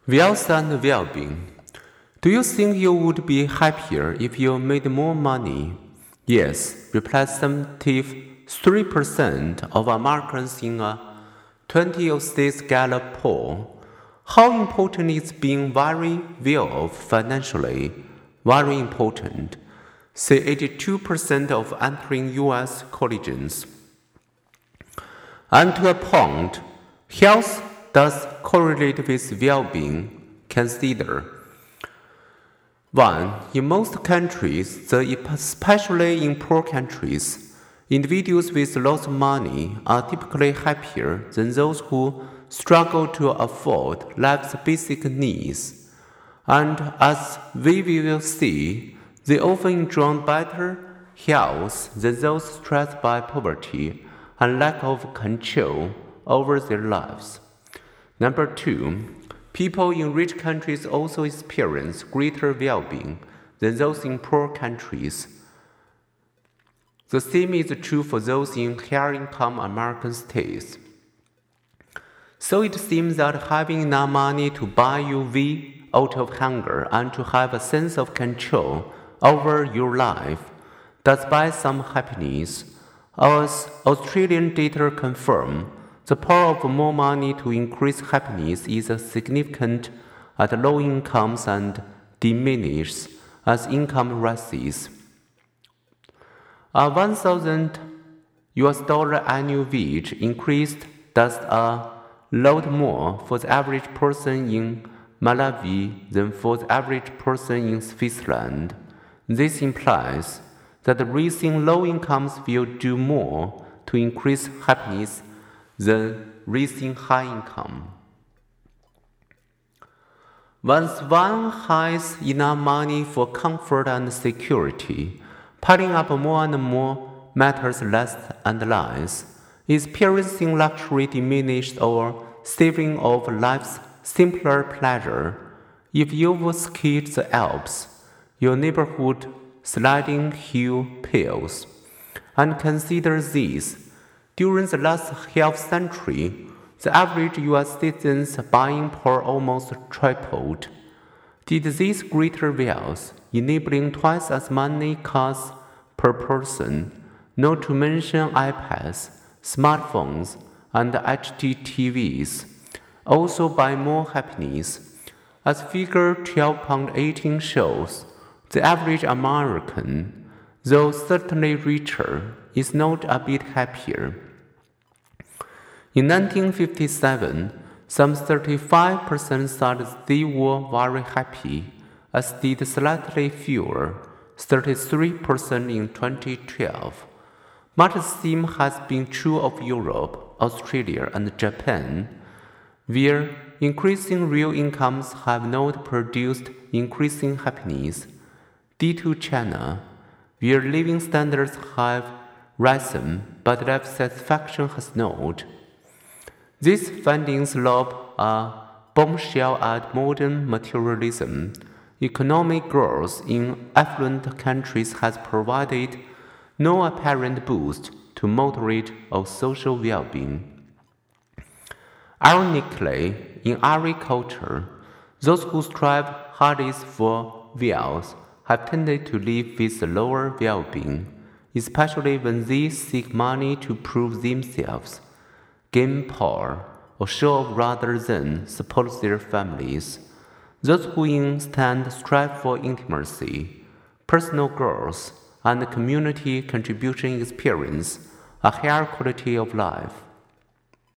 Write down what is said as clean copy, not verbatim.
Wealth and well-being. Do you think you would be happier if you made more money? Yes, replied 73% of Americans in a 2006 Gallup poll. How important is being very well off financially? Very important, say 82% of entering U.S. colleges. And to a point, health does correlate with well-being. Consider 1. In most countries, especially in poor countries, individuals with lots of money are typically happier than those who struggle to afford life's basic needs. And as we will see, they often enjoy better health than those stressed by poverty and lack of control over their lives. Number 2. People in rich countries also experience greater well-being than those in poor countries. The same is true for those in higher-income American states. So it seems that having enough money to buy your way out of hunger and to have a sense of control over your life does buy some happiness. As Australian data confirm, the power of more money to increase happiness is significant at low incomes and diminishes as income rises. A $1,000 annual wage increase does a lot more for the average person in Malawi than for the average person in Switzerland. This implies that raising low incomes will do more to increase happiness than raising high income. Once one has enough money for comfort and security, piling up more and more matters less and less. Experiencing luxury diminished or saving of life's simpler pleasure. If you've skied the Alps, your neighborhood sliding hill pills, and consider this. During the last half century, the average U.S. citizen's buying power almost tripled. Did this greater wealth, enabling twice as many cars per person, not to mention iPads, smartphones, and HDTVs, also buy more happiness? As figure 12.18 shows, the average American, though certainly richer, is not a bit happier. In 1957, some 35% thought they were very happy, as did slightly fewer, 33% in 2012. Much the same has been true of Europe, Australia, and Japan, where increasing real incomes have not produced increasing happiness. Due to China, where living standards have risen but life satisfaction has not. These findings lob a bombshell at modern materialism. Economic growth in affluent countries has provided no apparent boost to moderate or social well-being. Ironically, in every culture, those who strive hardest for wealth have tended to live with lower well-being, especially when they seek money to prove themselves, gain power, or show off rather than support their families. Those who instead strive for intimacy, personal growth, and community contribution experience a higher quality of life.